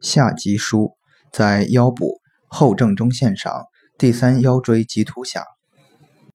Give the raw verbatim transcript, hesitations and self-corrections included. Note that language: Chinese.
下棘枢在腰部后正中线上第三腰椎棘突下，